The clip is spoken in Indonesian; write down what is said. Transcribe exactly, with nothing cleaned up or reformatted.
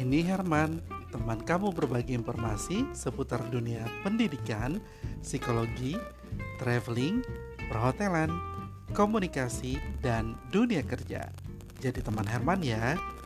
Ini Herman, teman kamu berbagi informasi seputar dunia pendidikan, psikologi, traveling, perhotelan, komunikasi, dan dunia kerja. Jadi teman Herman ya.